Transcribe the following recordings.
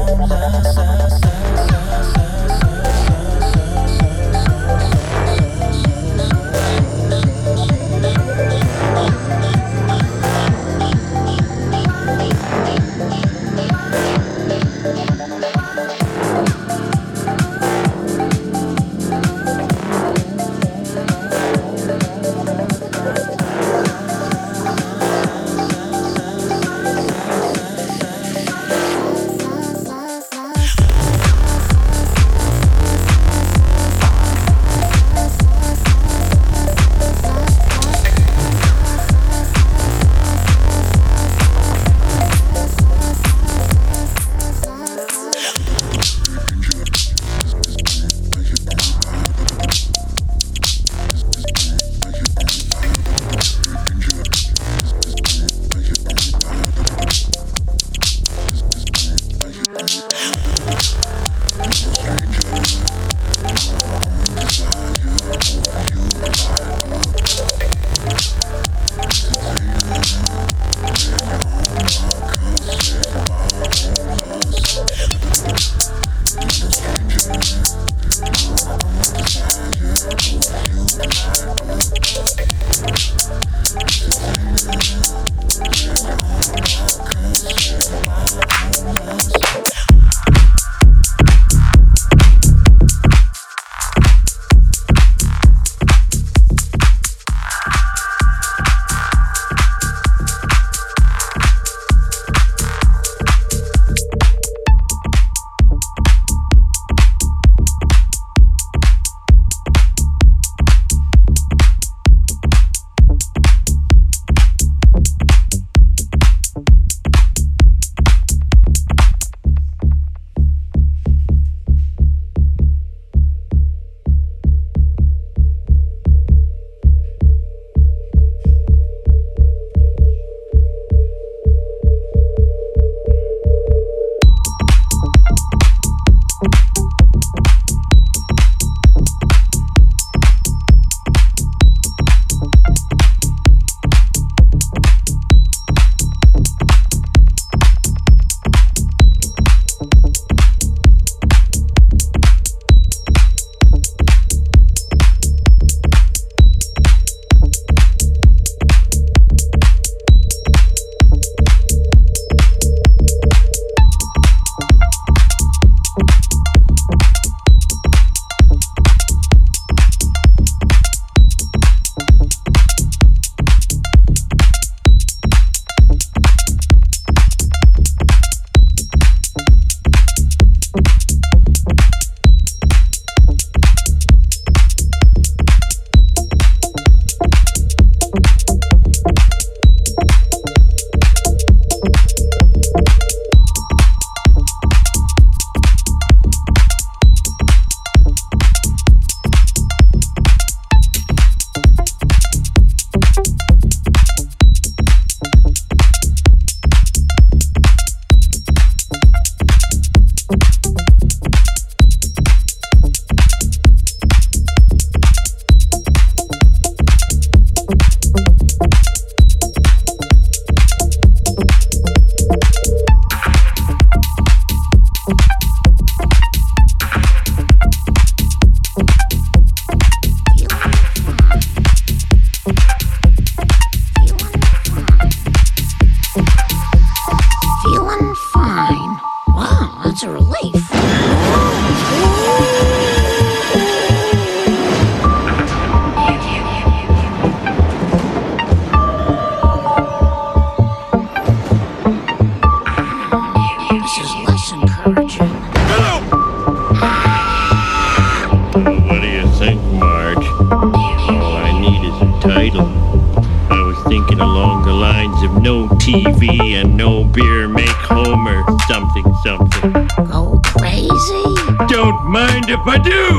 TV and no beer make Homer something something. Go crazy? Don't mind if I do!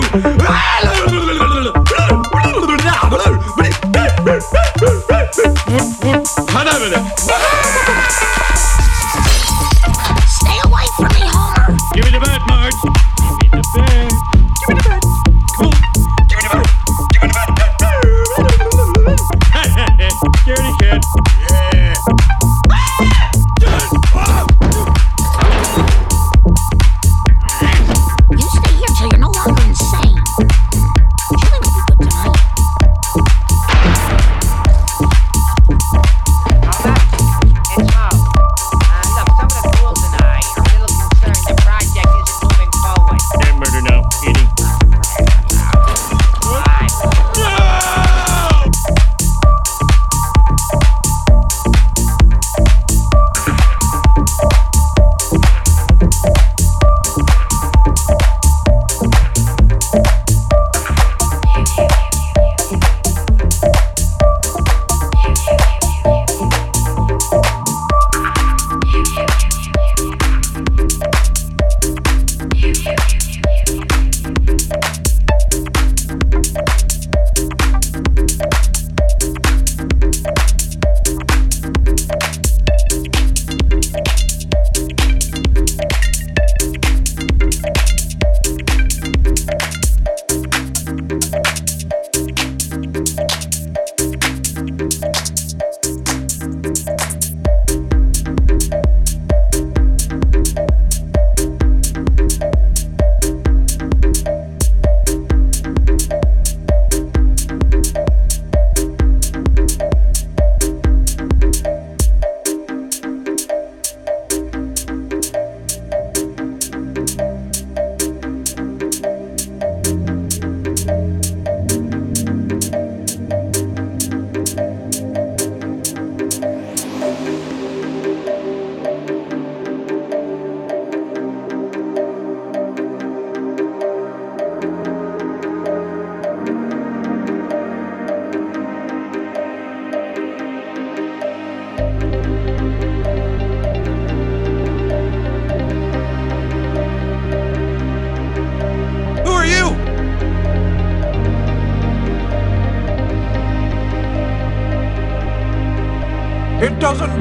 Stay away from me, Homer! Give me the bat, Marge! Give me the bat! Give me the bat! Come on! Give me the bat! Give me the bat! Scaredy cat! Yeah!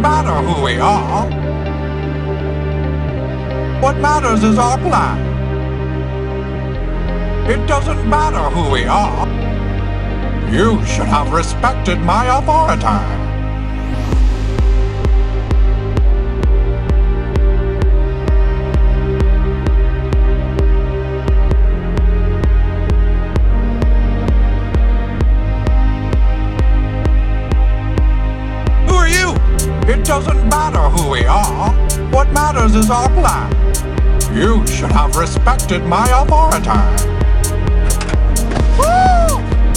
matter who we are. What matters is our plan. It doesn't matter who we are. You should have respected my authority. It doesn't matter who we are. What matters is our plan. You should have respected my authority. Woo!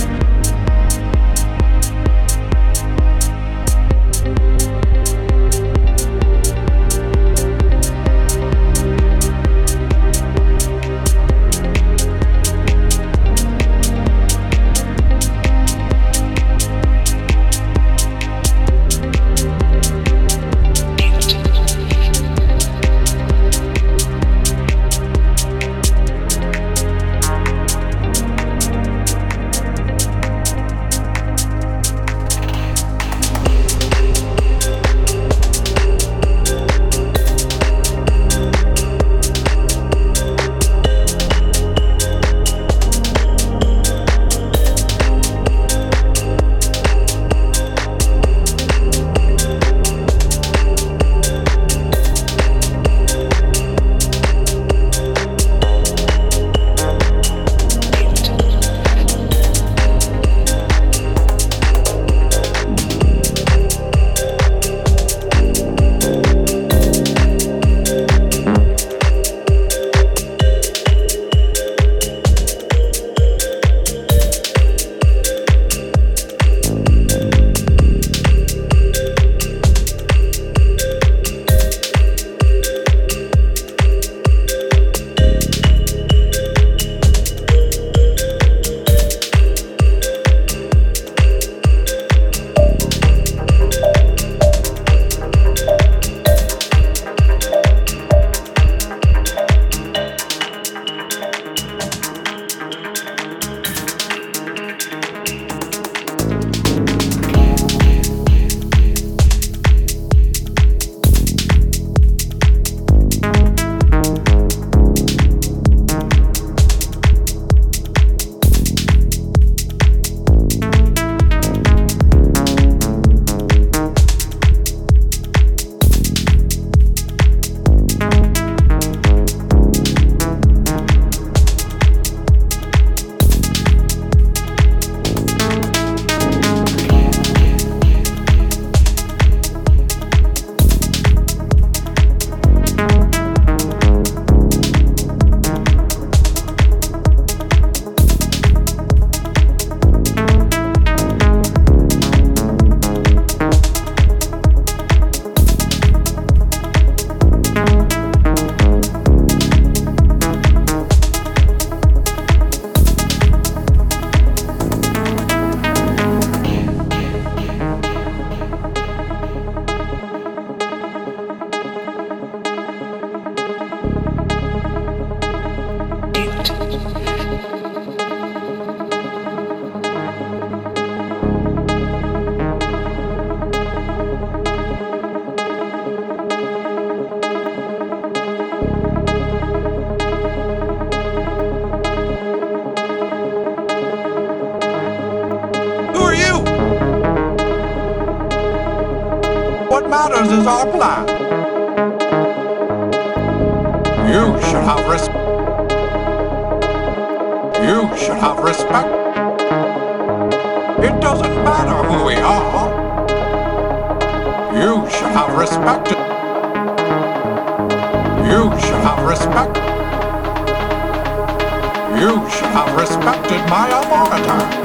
What matters is our plan. You should have respect. You should have respect. It doesn't matter who we are. You should have respect. You should have respect. You should have respected my authority.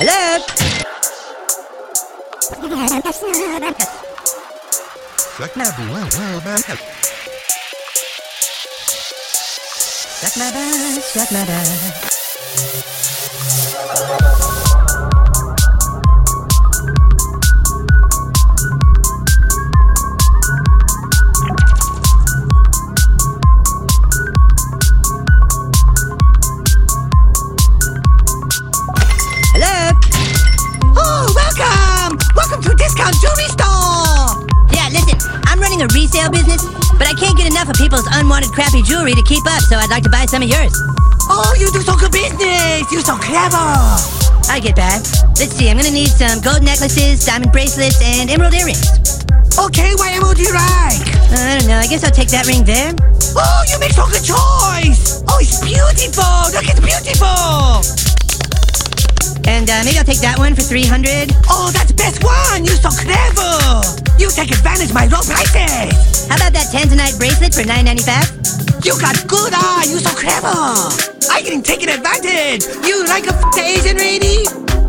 Hello? Suck my butt. Suck my butt. Hello? Oh, welcome! Welcome to Discount Jewelry Store! Yeah, listen, I'm running a resale business, but I can't get enough of people's unwanted crappy jewelry to keep up, so I'd like to buy some of yours. Oh, you do so good business! You're so clever! I get that. Let's see, I'm gonna need some gold necklaces, diamond bracelets, and emerald earrings. Okay, what emerald do you like? I don't know, I guess I'll take that ring there. Oh, you make so good choice! Oh, it's beautiful! Look, it's beautiful! And maybe I'll take that one for 300. Oh, that's the best one! You're so clever! You take advantage of my low prices! How about that tanzanite bracelet for $9.95? You got good eye! You're so clever! I getting taken advantage! You like a Asian lady?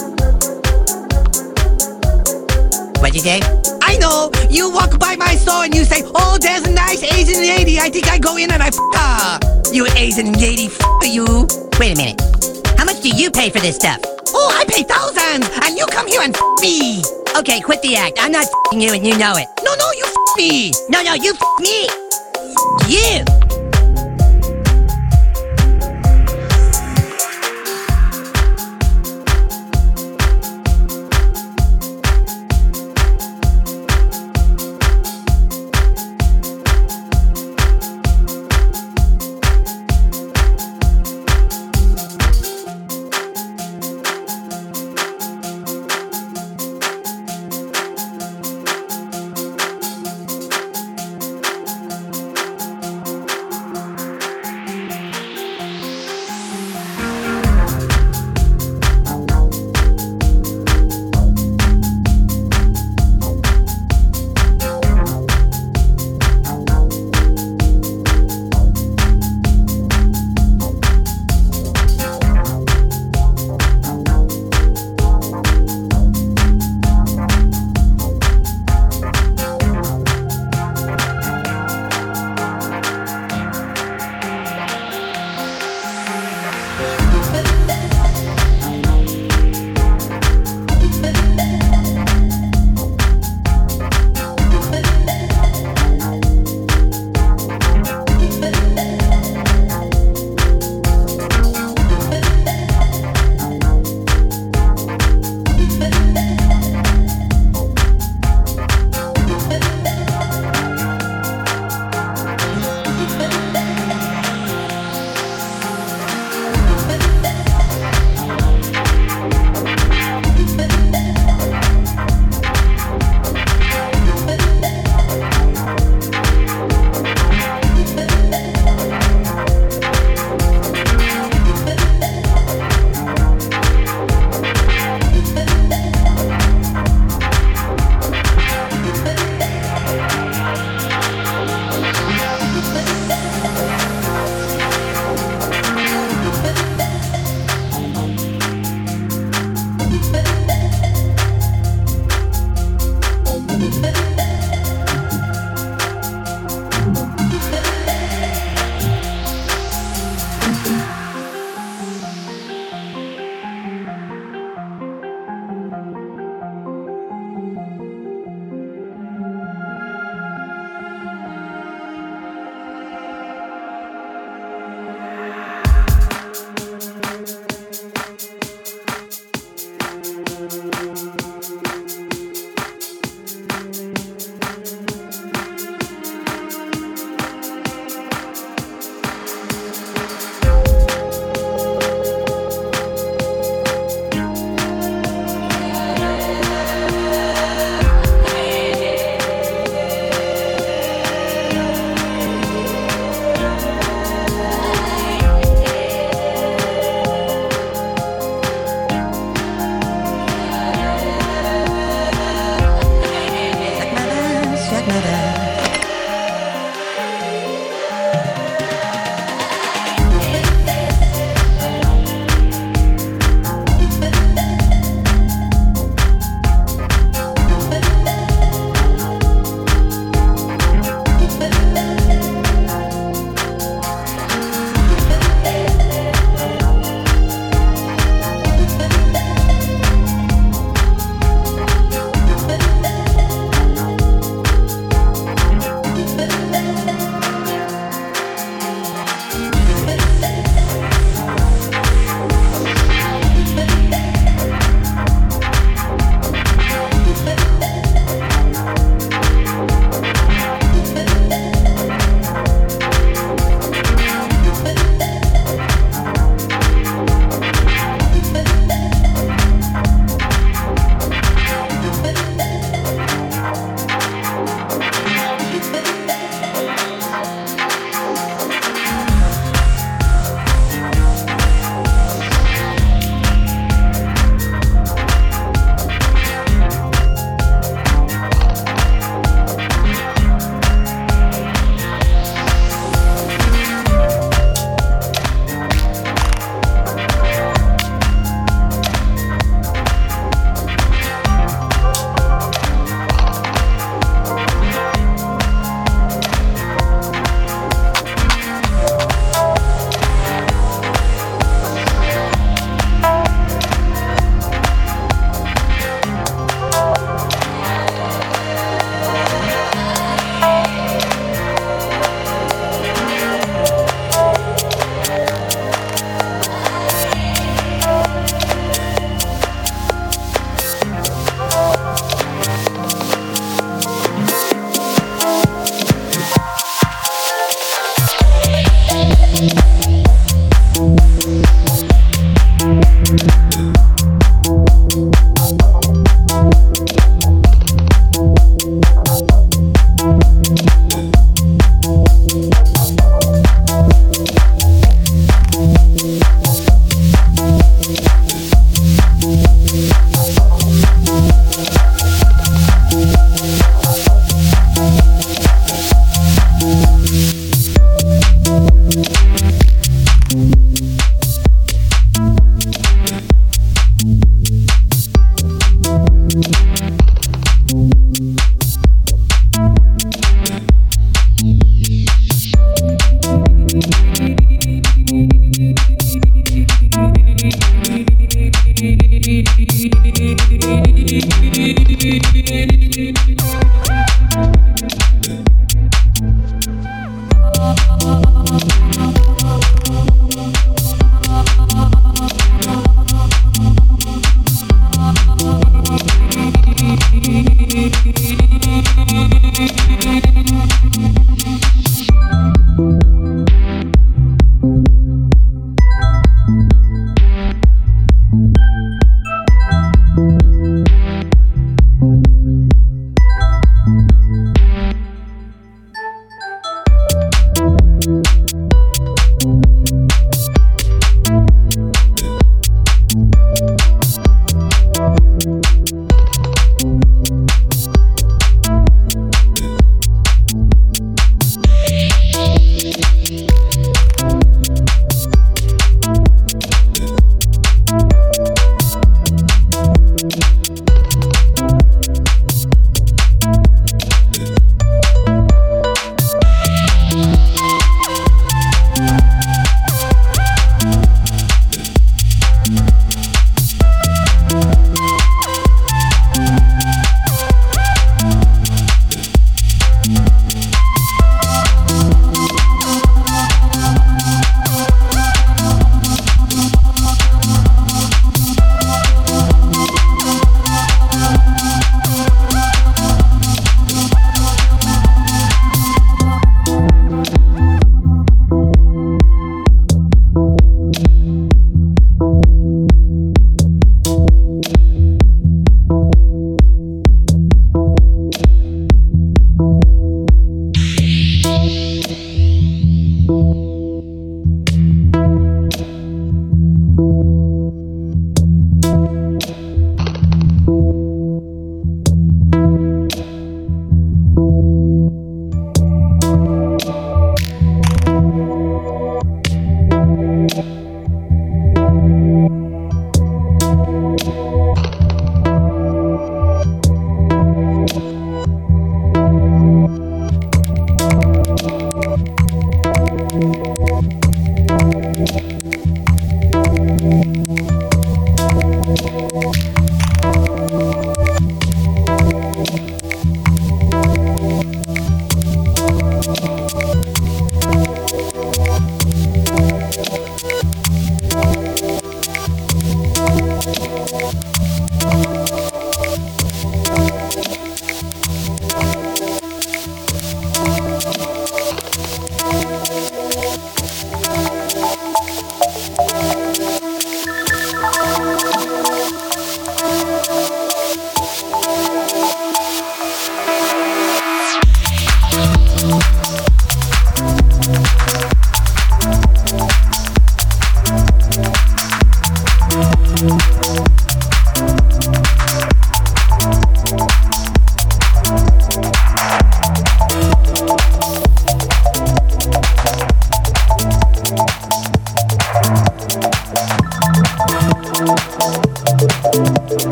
What'd you say? I know! You walk by my store and you say, oh, there's a nice Asian lady. I think I go in and I her. You Asian lady, you. Wait a minute. How much do you pay for this stuff? Oh, I pay thousands, and you come here and me. Okay, quit the act. I'm not you and you know it. No, you me. No, you me. You.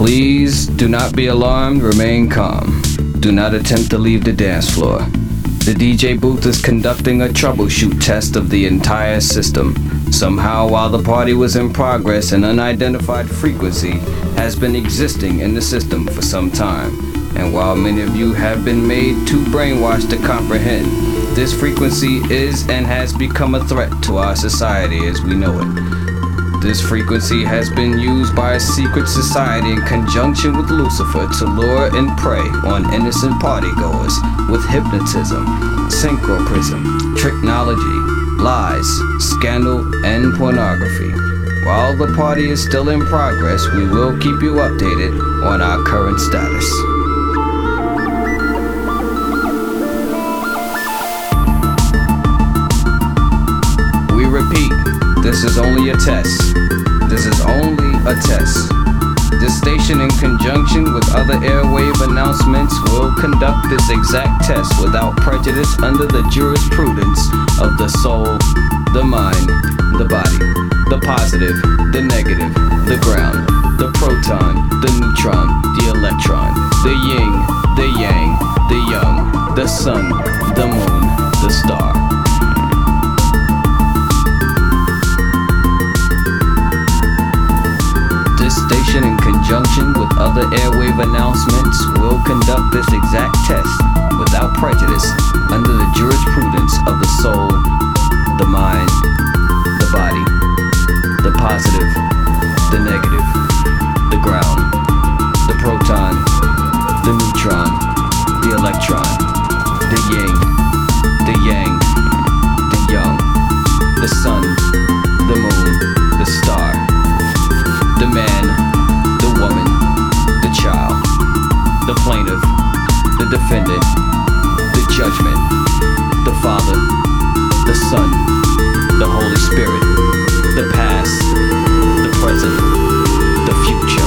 Please do not be alarmed, remain calm. Do not attempt to leave the dance floor. The DJ booth is conducting a troubleshoot test of the entire system. Somehow, while the party was in progress, an unidentified frequency has been existing in the system for some time. And while many of you have been made too brainwashed to comprehend, this frequency is and has become a threat to our society as we know it. This frequency has been used by a secret society in conjunction with Lucifer to lure and prey on innocent partygoers with hypnotism, synchroprism, tricknology, lies, scandal, and pornography. While the party is still in progress, we will keep you updated on our current status. We repeat, this is only a test. This is only a test. This station, in conjunction with other airwave announcements, will conduct this exact test without prejudice under the jurisprudence of the soul, the mind, the body, the positive, the negative, the ground, the proton, the neutron, the electron, the yin, the yang, the young, the sun, the moon, the star. This station, in conjunction with other airwave announcements, will conduct this exact test without prejudice under the jurisprudence of the soul, the mind, the body, the positive, the negative, the ground, the proton, the neutron, the electron, the yin, the yang, the young, the sun, the moon, the star, the man, the woman, the child, the plaintiff, the defendant, the judgment, the Father, the Son, the Holy Spirit, the past, the present, the future.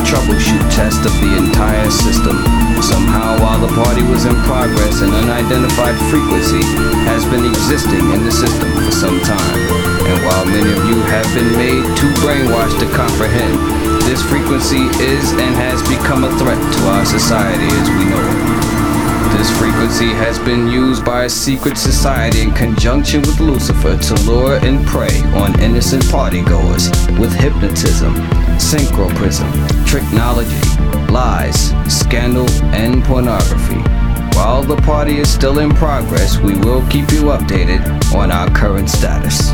troubleshoot test of the entire system. Somehow, while the party was in progress, an unidentified frequency has been existing in the system for some time. And while many of you have been made too brainwashed to comprehend, this frequency is and has become a threat to our society as we know it. This frequency has been used by a secret society in conjunction with Lucifer to lure and prey on innocent partygoers with hypnotism, synchroprism, tricknology, lies, scandal, and pornography. While the party is still in progress, we will keep you updated on our current status.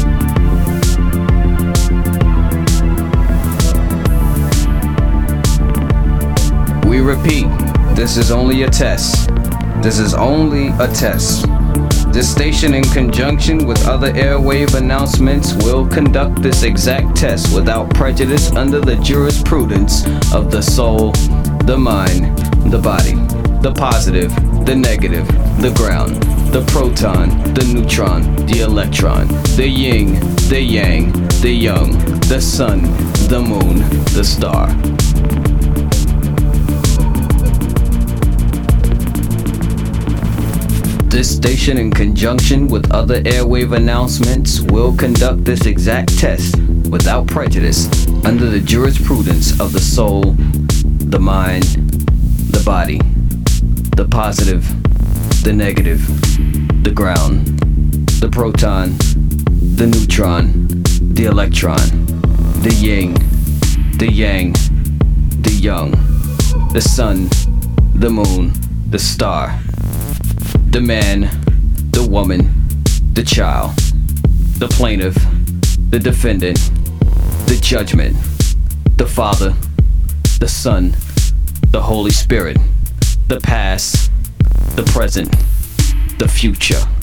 We repeat, this is only a test. This is only a test. This station, in conjunction with other airwave announcements, will conduct this exact test without prejudice under the jurisprudence of the soul, the mind, the body, the positive, the negative, the ground, the proton, the neutron, the electron, the yin, the yang, the young, the sun, the moon, the star. This station, in conjunction with other airwave announcements, will conduct this exact test without prejudice under the jurisprudence of the soul, the mind, the body, the positive, the negative, the ground, the proton, the neutron, the electron, the yin, the yang, the young, the sun, the moon, the star. The man, the woman, the child, the plaintiff, the defendant, the judgment, the Father, the Son, the Holy Spirit, the past, the present, the future.